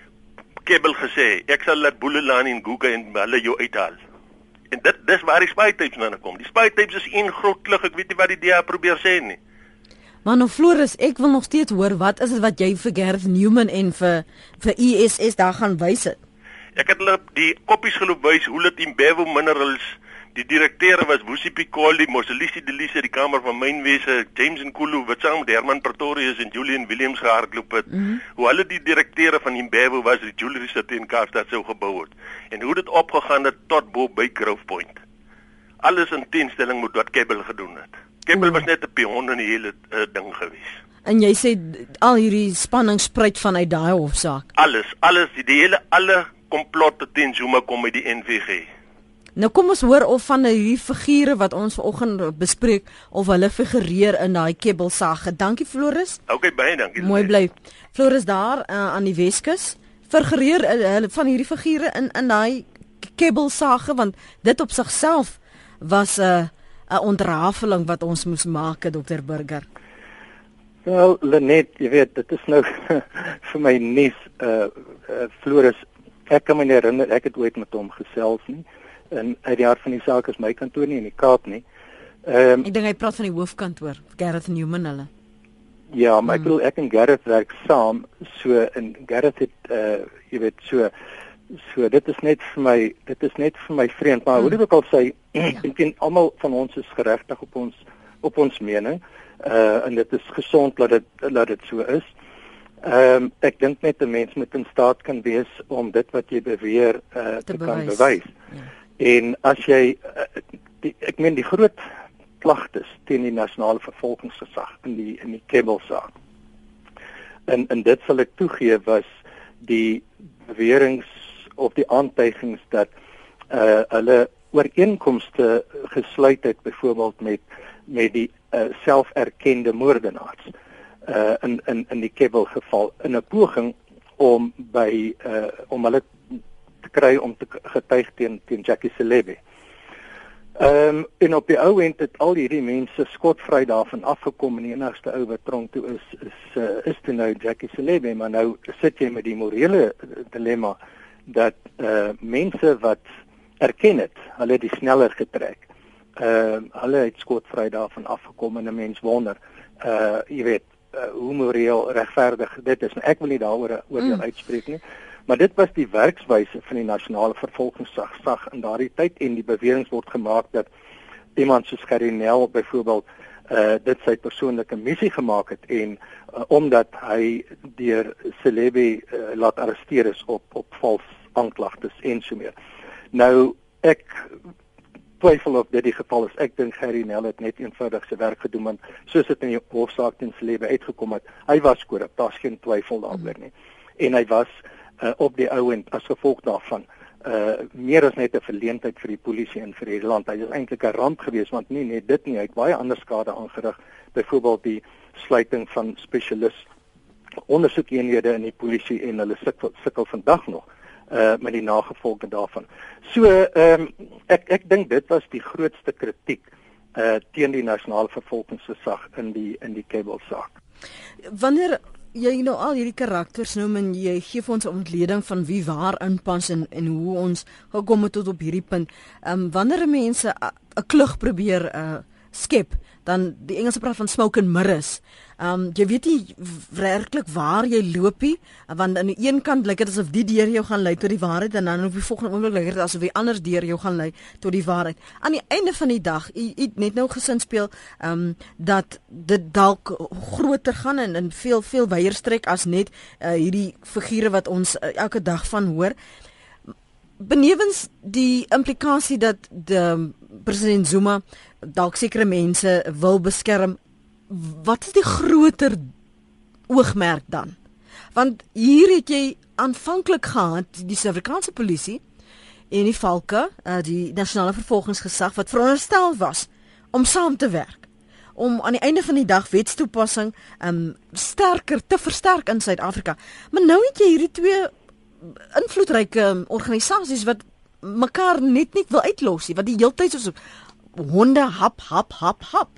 Kebbel gesê, ek sal laat Boelelani en Guka en hulle jou uithaal. En dit dis waar die spy tapes nou kom. Die spy tapes is een groot klug, ek weet nie wat die D A probeer sê nie. Maar nou Floris, ek wil nog steeds hoor, wat is dit wat jy vir Gareth Newman en vir vir I S S daar gaan wys het? Ek het hulle die koppies geloop wys hoe dit Imbewu Minerals, die direkteure was Wusi Piccoli, Moselisi Delise, die Kamer van Mynwese, James Nkulu wat saam met Herman Pretorius en Julian Williams gehardloop het. Mm -hmm. Hoe hulle die direkteure van Imbewu was, die jewelry sit in Kaapstad sou gebou het. En hoe dit opgegaan het tot bo by Grove Point. Alles in teenstelling met wat Kebbel gedoen het. Kebbel was net 'n pion in die hele uh, ding gewees. En jy sê al hierdie spanning spruit vanuit daai hofsaak. Alles, alles, die, die hele alle komplotte teen Zuma kom uit die N V G. Nou kom ons hoor of van hierdie figure wat ons vanoggend bespreek of hulle figureer in daai Kebbel saak. Dankie Floris. Okay, baie dankie. Mooi bly. Floris daar uh, aan die Weskus figureer hulle uh, van hierdie figure in in daai Kebbel saak, want dit op sigself was 'n uh, 'n ontrafeling wat ons moes maak, dokter Burger. Wel, Lenet, jy weet, dit is nou vir my nuus, uh, uh Floris, ek kan my nie herinner, ek het ooit met hom gesels nie, en uit die hart van die saak is my kantoor nie in die Kaap nie. Um, ek dink hy praat van die hoofkantoor, Gareth Newman hulle. Ja, maar ek bedoel, ek en Gareth werk saam, so, en Gareth het, uh, jy weet, so, so, dit is net vir my, dit is net vir my vreemd, maar hmm. hoe dit ook al sê, ja. Ek dink almal van ons is geregtig op ons, op ons mening, uh, en dit is gesond dat dit, dat dit so is. Ehm um, ek dink net 'n mens moet in staat kan wees om dit wat jy beweer uh, te, te kan bewys. Ja. En as jy uh, die, ek meen die groot klagtes teen die nasionale vervolgingsgesag in die in die Kebbel saak. En en dit sal ek toegee was die beweringe of die aantuigings dat uh hulle ooreenkomste gesluit het byvoorbeeld met met die uh, selferkende moordenaars uh in in in die Kebbel geval in 'n poging om by uh om hulle te kry om te getuig teen teen Jackie Selebi. Ehm um, en op die ou end het al hierdie mense skotvry daarvan afgekom en die enigste ou wat tronk toe is is uh, is toe nou Jackie Selebi, maar nou sit jy met die morele dilemma dat uh mense wat erken het, hulle het die sneller getrek. Ehm uh, hulle het skotvry daarvan afgekom en 'n mens wonder uh jy weet uh, hoe moreel regverdig dit is. Nou, ek wil nie daaroor oordeel mm. uitspreek nie. Maar dit was die werkswyse van die nasionale vervolgingsgesag sag in daardie tyd en die bewering word gemaak dat iemand soos Gerry Nel byvoorbeeld uh, dit sy persoonlike missie gemaak het en uh, omdat hy deur Selebi uh, laat arresteer is op op vals aanklagtes en so meer. Nou ek twyfel of dit die geval is. Ek dink Gerry Nel het net eenvoudig sy werk gedoen want soos dit in die hofsaak teen Selebi uitgekom het, hy was korrup, daar's geen twyfel daaroor nie. En hy was Uh, op die ou end as gevolg daarvan uh meer as net 'n verleentheid vir die polisie en vir die land. Hy is eintlik 'n ramp geweest want nie net dit nie, hy het baie ander skade aangerig, byvoorbeeld die sluiting van spesialis ondersoekeenhede in die polisie en hulle sukkel, sukkel vandag nog uh met die nagevolge daarvan. So ehm um, ek ek dink dit was die grootste kritiek uh teen die nasionale vervolgingsgesag in die in die Kebbel saak. Wanneer jy nou al hierdie karakters noem en jy gee vir ons 'n ontleding van wie waar inpas en en hoe ons gekom het tot op hierdie punt. Ehm um, wanneer mense 'n klug probeer uh, skep, dan die Engelse praat van smoke and mirrors. Ehm um, jy weet nie werklik waar jy loop nie, want aan die een kant lyk dit asof die deur jou gaan lei tot die waarheid en dan op die volgende oomblik lyk dit asof die ander deur jou gaan lei tot die waarheid. Aan die einde van die dag, jy het net nou gesin speel ehm um, dat dit dalk groter gaan en in veel veel wyer strek as net uh, hierdie figure wat ons uh, elke dag van hoor. Benewens die implikasie dat die president Zuma dalk sekere mense wil beskerm, wat is die groter oogmerk dan? Want hier het jy aanvanklik gehad die Suid-Afrikaanse polisie en die Valke, die nasionale vervolgingsgesag wat veronderstel was om saam te werk, om aan die einde van die dag wetstoepassing um, sterker te versterk in Suid-Afrika. Maar nou het jy hierdie twee invloedryke organisasies wat mekaar net nie wil uitlos nie, wat die hele tyd so honde hap hap hap hap.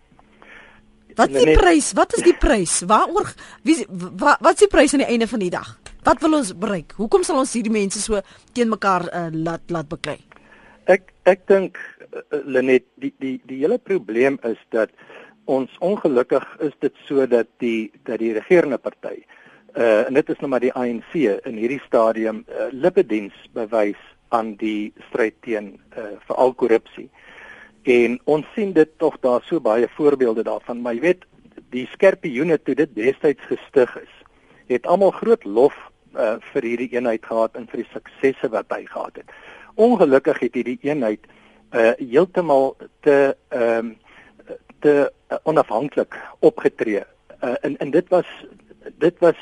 Wat is die prys? Wat is die prys? Waaroor wie wat, wat is die prys aan die einde van die dag? Wat wil ons bereik? Hoekom sal ons hierdie mense so teen mekaar uh, laat laat beklei? Ek ek dink uh, Lenet, die die die hele probleem is dat ons ongelukkig is dit so dat die dat die regerende party uh, en dit is nou maar die A N C in hierdie stadium uh, lippediens bewys aan die stryd teen uh, veral korrupsie. En ons sien dit tog daar so baie voorbeelde daarvan, maar jy weet, die skerpioene toe dit destyds gestig is, het almal groot lof uh, vir hierdie eenheid gehad en vir die suksesse wat hy gehad het. Ongelukkig het hierdie eenheid uh, heeltemal te ehm um, te uh, onafhanklik opgetree. Uh, en en dit was dit was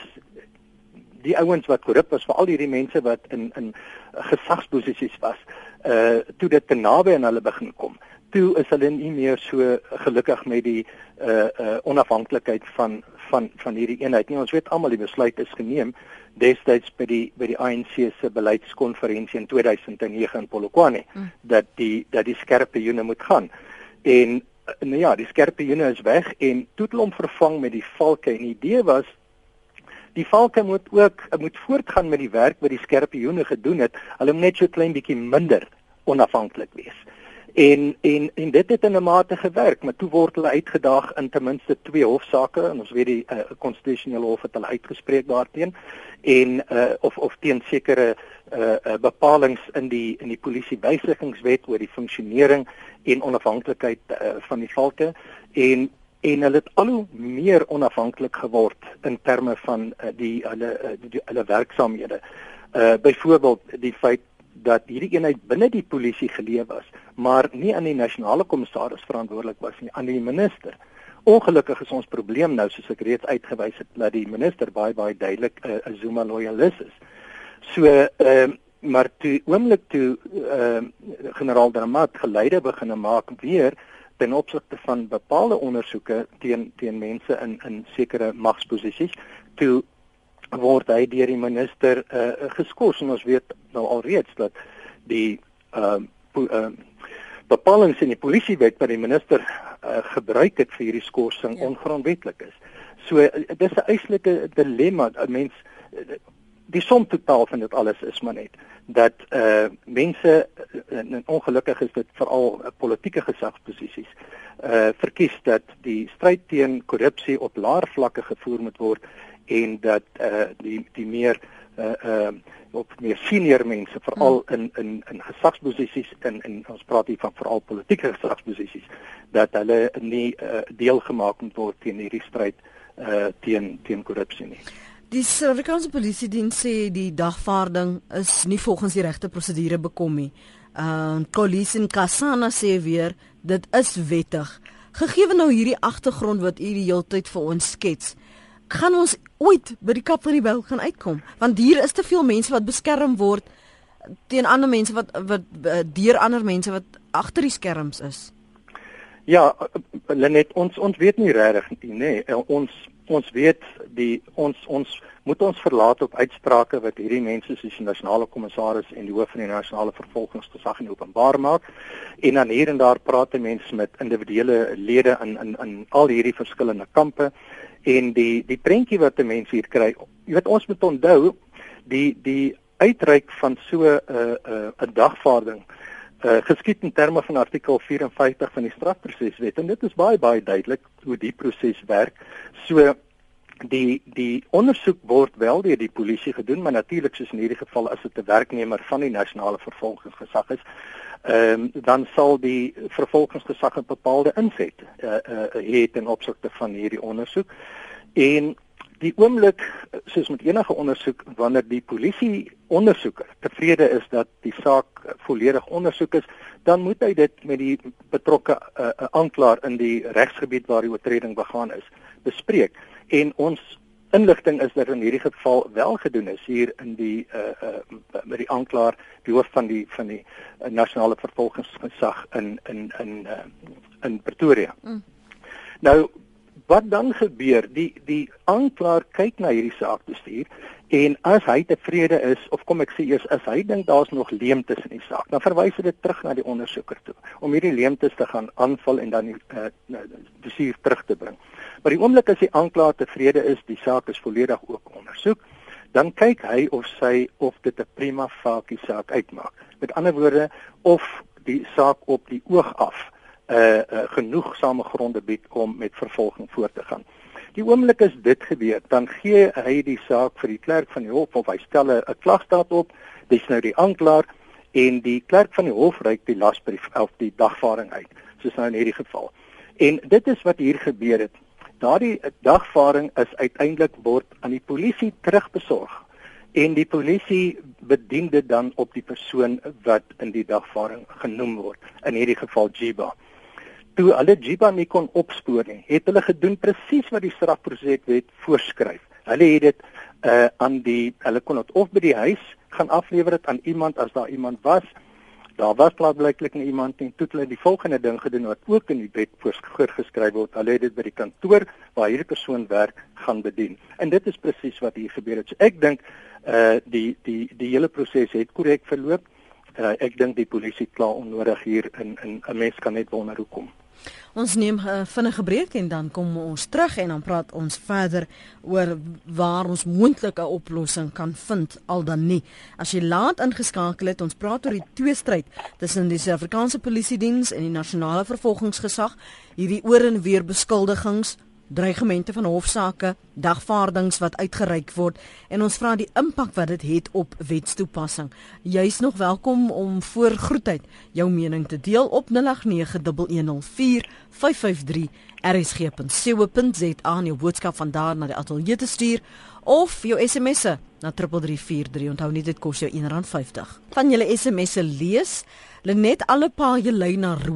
die ouens wat korrup was, veral hierdie mense wat in in gesagsposisies was, uh, toe dit te naby aan hulle begin kom. Toe is hulle nie meer so gelukkig met die uh, uh, onafhanklikheid van van van hierdie eenheid nie. Ons weet almal die besluit is geneem destyds by die by die A N C se beleidskonferensie in twee duisend nege in Polokwane mm. dat die dat die skerpioene moet gaan. En nou ja, die skerpioene is weg en toe het hulle hom vervang met die valke. En die idee was die valke moet ook moet voortgaan met die werk wat die skerpioene gedoen het. Hulle moet net so klein bietjie minder onafhanklik wees. En en en dit het in 'n mate gewerk, maar toe word hulle uitgedaag in ten minste twee hofsaake en ons weet die konstitusionele uh, hof het hulle uitgespreek daarteen en uh, of of teen sekere uh, uh, bepalinge in die in die polisiewysigingswet oor die funksionering en onafhanklikheid uh, van die valke en en hulle het al hoe meer onafhanklik geword in terme van uh, die hulle uh, die, die hulle werksaamhede. Uh, byvoorbeeld die feit dat hierdie eenheid binne die polisie geleë was, maar nie aan die nasionale kommissaris verantwoordelik was nie, aan die minister. Ongelukkig is ons probleem nou, soos ek reeds uitgewys het, dat die minister baie baie duidelik 'n uh, Zuma loyalis is. So, ehm uh, maar toe oomblik toe uh, generaal Dramat geleide begin maak weer ten opsigte van bepaalde ondersoeke teen teen mense in in sekere magsposisies, toe word hy deur die minister uh, geskort. En ons weet nou alreeds dat die uh, uh, bepalings in die polisiewet wat die minister uh, gebruik het vir hierdie skorsing ja. ongrondwetlik is. So uh, dis 'n eislike dilemma. 'n Mens die som totaal van dit alles is maar net dat uh, mense en ongelukkig is dit veral uh, politieke gesagsposisies uh, verkies dat die stryd teen korrupsie op laer vlakke gevoer moet word en dat uh, die die meer uh, uh, op meer senior mense veral in in in gesagsposisies en en ons praat hier van veral politieke gesagsposisies dat hulle nie uh, deel gemaak moet word teen hierdie stryd uh, teen teen korrupsie nie. Die Suid-Afrikaanse Polisiediens sê die dagvaarding is nie volgens die regte prosedure bekom nie. Uh Kolisi Nkasana sê weer dit is wettig. Gegee nou hierdie agtergrond wat u die hele tyd vir ons skets, gaan ons ooit by die kap van die byl gaan uitkom? Want hier is te veel mense wat beskerm word teen ander mense wat wat deur ander mense wat agter die skerms is. Ja, Lenet, ons ons weet nie regtig nie, nee. Ons ons weet die ons ons moet ons verlaat op uitsprake wat hierdie mense soos die nasionale kommissaris en die hoof van die nasionale vervolgingsgesag in openbaar maak. En dan hier en daar praat die mense met individuele lede in in in al hierdie verskillende kampe. En die die prentjie wat 'n mens hier kry, jy weet ons moet onthou die die uitreik van so 'n uh, 'n uh, dagvaarding uh, geskied in terme van artikel vyf en vyftig van die strafproseswet en dit is baie baie duidelik hoe die proses werk. So die die ondersoek word wel deur die polisie gedoen, maar natuurlik soos in hierdie geval as dit 'n werknemer van die nasionale vervolgingsgesag is, ehm um, dan sal die vervolgingsgesag 'n bepaalde inset uh, uh, hê ten opsigte van hierdie ondersoek. En die oomblik soos met enige ondersoek wanneer die polisie ondersoeker tevrede is dat die saak volledig ondersoek is, dan moet hy dit met die betrokke uh, uh, aanklaer in die regsgebied waar die oortreding begaan is bespreek. En ons inligting is dat in hierdie geval wel gedoen is hier in die uh, uh, met die aanklaer, die hoof van die van die uh, nasionale vervolgingsgesag in in in uh, in Pretoria. Mm. Nou wat dan gebeur? Die die aanklaer kyk na hierdie saak bestuur en as hy tevrede is of kom ek sê eers as hy dink daar's nog leemtes in die saak, dan verwys hy dit terug na die ondersoeker toe om hierdie leemtes te gaan aanval en dan die uh, bestuur terug te bring. Maar die oomblik as die aanklaer tevrede is, die saak is volledig ook ondersoek, dan kyk hy of sy of dit 'n prima facie saak uitmaak. Met ander woorde, of die saak op die oog af uh, uh, genoegsame gronde bied om met vervolging voort te gaan. Die oomblik as dit gebeur, dan gee hy die saak vir die klerk van die hof of hy stel 'n klagstaat op, dis nou die aanklaer en die klerk van die hof reik die lasbrief of die dagvaarding uit, soos nou in hierdie geval. En dit is wat hier gebeur het. Daardie dagvaarding is uiteindelik word aan die polisie terugbesorg en die polisie bedien dit dan op die persoon wat in die dagvaarding genoem word, in hierdie geval Jiba. Toe hulle Jiba nie kon opspoor nie, het hulle gedoen presies wat die strafproseswet voorskryf. Hulle het dit uh, aan die hulle kon dit of by die huis gaan aflewer dit aan iemand as daar iemand was. Daar was klaarblyklik nie iemand nie. Toe hulle die volgende ding gedoen wat ook in die wet voorgeskryf word. Hulle het dit by die kantoor waar hierdie persoon werk gaan bedien. En dit is presies wat hier gebeur het. So ek dink uh die die die hele proses het korrek verloop. Uh, ek dink die polisie kla onnodig hier in in 'n mens kan net wonder hoekom. Ons neem 'n uh, vinnige breek en dan kom ons terug en dan praat ons verder oor waar ons moontlik 'n oplossing kan vind al dan nie. As jy laat ingeskakel het, ons praat oor die tweestryd tussen die Suid-Afrikaanse Polisiediens en die nasionale vervolgingsgesag, hierdie oor en weer beskuldigings, dreigemente van hofsaake, dagvaardings wat uitgereik word en ons vra die impak wat dit het op wetstoepassing. Jy's nog welkom om voor groetheid jou mening te deel op nul agt nege, een een vier, vyf vyf drie r s g punt co punt z a en jou boodskap van daar na die ateljee te stuur of jou sms'e na drie drie vier drie. Onthou nie dit kos jou een rand vyftig. Van julle sms'e lees, Lenet alle paaie lei na Rome.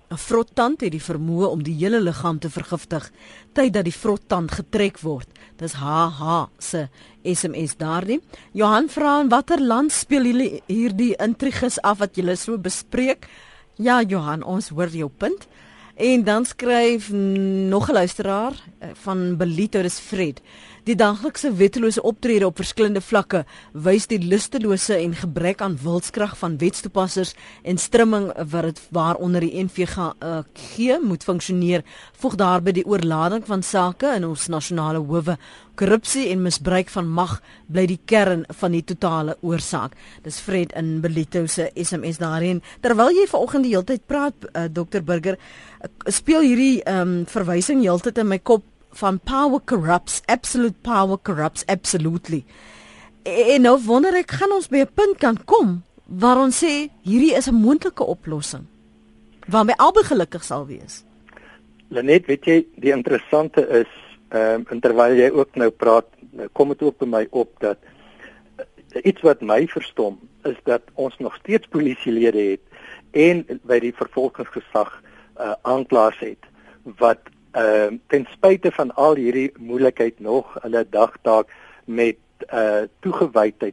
'n Vrottand het die vermoë om die hele liggaam te vergiftig tyddat die vrottand getrek word. Dis H H se S M S daardie. Johan vra in watter land speel julle hierdie intriges af wat julle so bespreek? Ja, Johan, ons hoor jou punt. En dan skryf nog 'n luisteraar van Belito, dis Fred. Die daglikse wettelose optrede op verskillende vlakke wys die lustelose en gebrek aan wilskrag van wetstoepassers en strimming wat dit waaronder die N V G moet funksioneer, voeg daarby die oorlading van sake in ons nasionale howe. Korrupsie en misbruik van mag bly die kern van die totale oorsaak. Dis Fred in Belito se S M S daarin. Terwyl jy vanoggend die hele tyd praat, uh, dokter Burger, speel hierdie um, verwysing heeltyd in my kop van power corrupts, absolute power corrupts, absolutely. En nou wonder ek, gaan ons by 'n punt kan kom waar ons sê, hierdie is 'n moontlike oplossing, waarmee albei gelukkig sal wees? Lenet, weet jy, die interessante is, um, en terwyl jy ook nou praat, kom dit ook by my op, dat uh, iets wat my verstom, is dat ons nog steeds polisielede het, en by die vervolgingsgesag uh, aanklaers het, wat Uh, ten spyte van al hierdie moeilikheid nog hulle dagtaak met uh, toegewydheid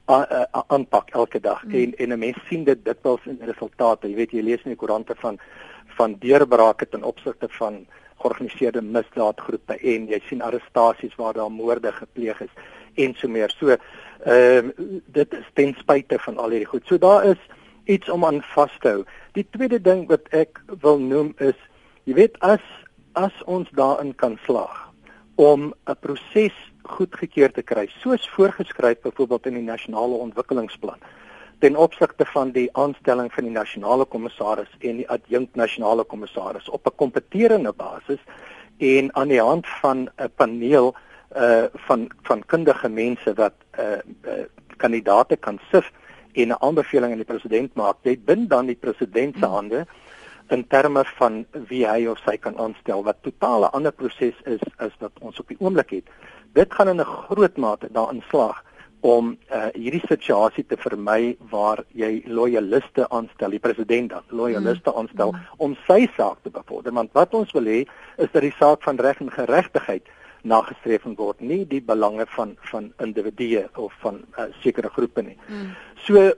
aanpak elke dag. Mm. En en 'n mens sien dit dikwels in resultate. Jy weet, jy lees in die koerante van van deurbrake ten opsigte van georganiseerde misdaadgroepe en jy sien arrestasies waar daar moorde gepleeg is en so meer. So ehm uh, dit is ten spyte van al hierdie goed. So daar is iets om aan vas te hou. Die tweede ding wat ek wil noem is, jy weet, as as ons daarin kan slaag om 'n proses goedgekeur te kry, soos voorgeskryf byvoorbeeld in die nasionale ontwikkelingsplan, ten opsigte van die aanstelling van die nasionale kommissaris en die adjunkt nasionale kommissaris op 'n kompeterende basis en aan die hand van 'n paneel uh, van van kundige mense wat uh, uh, kandidaate kan sif en 'n aanbeveling aan die president maak, dit bind dan die president se hande in terme van wie hy of sy kan aanstel, wat totaal 'n ander proses is as wat ons op die oomblik het. Dit gaan in 'n groot mate daarin slaag om uh, hierdie situasie te vermy waar jy loyaliste aanstel, die president dan loyaliste aanstel mm. om sy saak te bevorder, want wat ons wil hê is dat die saak van reg en geregtigheid nagestreef word, nie die belange van van individue of van uh, sekere groepe nie. Mm. So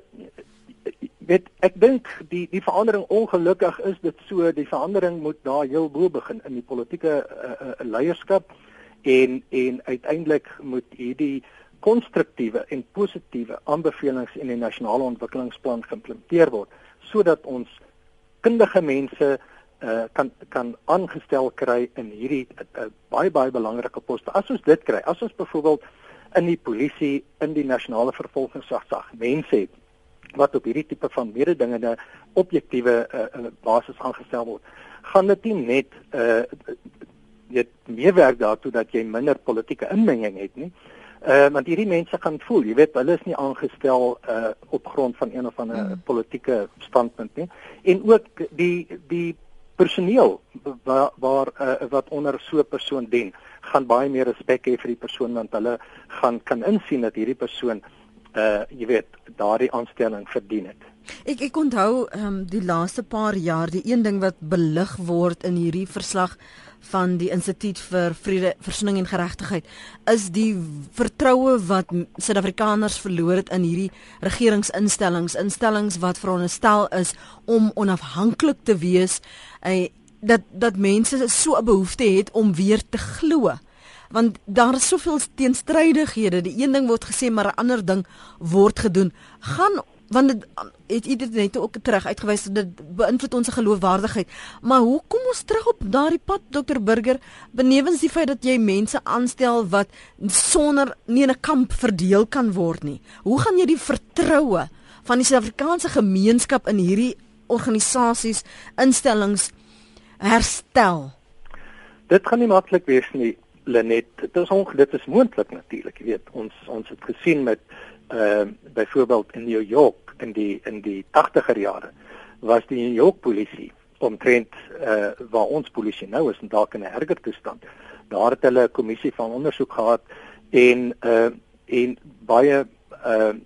weet, ek dink die die verandering, ongelukkig is dit so, die verandering moet daar heel bo begin in die politieke uh, uh, leierskap en en uiteindelik moet hierdie konstruktiewe en positiewe aanbevelings in die nasionale ontwikkelingsplan geïmplementeer word sodat ons kundige mense uh, kan kan aangestel kry in hierdie uh, baie baie belangrike poste. As ons dit kry, as ons byvoorbeeld in die polisie, in die nasionale vervolgingsgesag mense het wat op hierdie tipe van mededingende objektiewe uh, basis aangestel word, gaan dit nie net uh, dit meewerk daartoe dat jy minder politieke inmenging het nie. Uh, want hierdie mense gaan voel, jy weet, hulle is nie aangestel uh, op grond van een of ander mm. politieke standpunt nie. En ook die die personeel waar, waar uh, wat onder so 'n persoon dien, gaan baie meer respek hê vir die persoon, want hulle gaan kan insien dat hierdie persoon uh jy weet, daardie aanstelling verdien het. Ek ek onthou um, die laaste paar jaar, die een ding wat belig word in hierdie verslag van die Instituut vir Vrede, Versoening en Geregtigheid, is die vertroue wat Suid-Afrikaners verloor het in hierdie regeringsinstellings, instellings wat veronderstel is om onafhanklik te wees, uh, dat dat mense so 'n behoefte het om weer te glo. Want daar is soveel teenstrydighede. Die een ding word gesê, maar 'n ander ding word gedoen. Gaan, want dit het jy dit net ook terug uitgewys, dit beïnvloed ons geloofwaardigheid. Maar hoe kom ons terug op daardie pad, dokter Burger, benewens die feit dat jy mense aanstel wat sonder nie in 'n kamp verdeel kan word nie? Hoe gaan jy die vertroue van die Suid-Afrikaanse gemeenskap in hierdie organisasies, instellings herstel? Dit gaan nie maklik wees nie, Lenet. Dit is onge, dit is moontlik natuurlik, jy weet. Ons ons het gesien met uh byvoorbeeld in New York in die in die tagtiger jare was die New York polisie omtrent uh waar ons polisie nou is en dalk in 'n erger toestand. Daar het hulle 'n kommissie van ondersoek gehad en uh en baie uh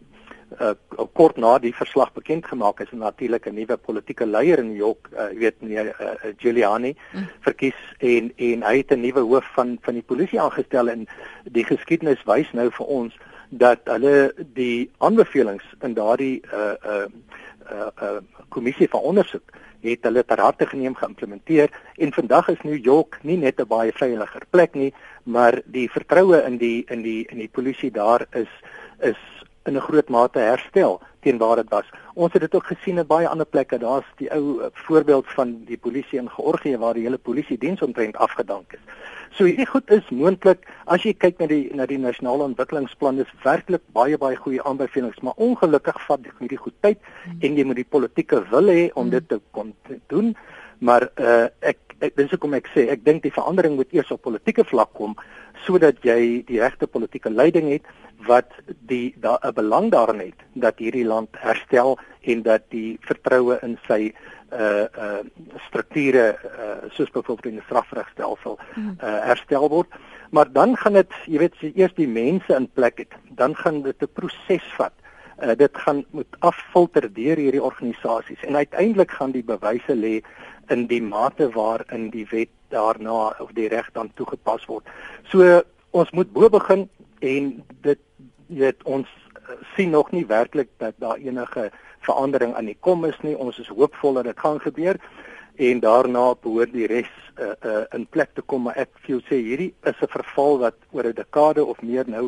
uh, kort na die verslag bekend gemaak is, natuurlik 'n nuwe politieke leier in New York, uh, jy weet meneer uh, Giuliani mm. verkies en en hy het 'n nuwe hoof van van die polisie aangestel en die geskiedenis wys nou vir ons dat hulle die aanbevelings in daardie uh uh uh, uh kommissie van ondersoek het hulle ter harte geneem, geïmplementeer en vandag is New York nie net 'n baie veiliger plek nie, maar die vertroue in die in die in die polisie daar is is in 'n groot mate herstel teen waar dit was. Ons het dit ook gesien in baie ander plekke. Daar's die ou voorbeeld van die polisie in Georgië waar die hele polisie diens omtrent afgedank is. So hierdie goed is moontlik as jy kyk na die na die nasionale ontwikkelingsplan, is werklik baie baie goeie aanbevelings, maar ongelukkig vat hierdie goed tyd mm. en jy moet die politieke wil hê om mm. dit te kon doen. Maar uh, ek ek dis hoekom ek sê ek dink die verandering moet eers op politieke vlak kom sodat jy die regte politieke leiding het wat die daar 'n belang daarin het dat hierdie land herstel en dat die vertroue in sy uh uh strukture uh soos byvoorbeeld in die strafregstelsel uh herstel word. Maar dan gaan dit, jy weet, as jy eers die mense in plek het, dan gaan dit 'n proses vat. Uh dit gaan moet affilter deur hierdie organisasies en uiteindelik gaan die bewyse lê in die mate waarin die wet daarna of die reg dan toegepas word. So ons moet bo begin en dit jy weet ons sien nog nie werklik dat daar enige verandering aan die kom is nie. Ons is hoopvol dat dit gaan gebeur en daarna behoort die res uh, uh, in plek te kom, maar ek wil sê hierdie is 'n verval wat oor 'n dekade of meer nou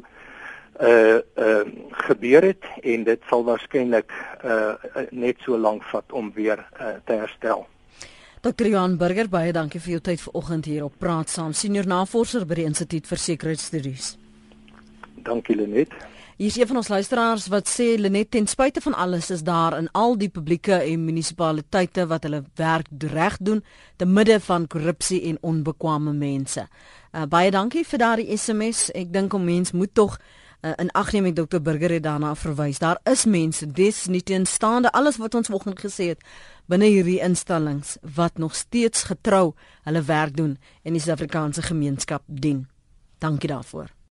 uh uh gebeur het en dit sal waarskynlik uh net so lank vat om weer uh, te herstel. dokter Johan Burger, baie dankie vir jou tyd vanoggend hier op Praat Saam, senior navorser by die Instituut vir Sekuriteitsstudies. Dankie Lenet. Hier is een van ons luisteraars wat sê, Lenet, ten spyte van alles is daar in al die publieke en munisipaliteite wat hulle werk reg doen, te midde van korrupsie en onbekwame mense. Uh, baie dankie vir daardie S M S. Ek dink om mens moet tog uh, in ag neem, dokter Burger het daarna verwys. Daar is mense, dis nie teenstaande alles wat ons vanoggend gesê het, binne hierdie instellings wat nog steeds getrou hulle werk doen en die Suid-Afrikaanse gemeenskap dien. Dankie daarvoor.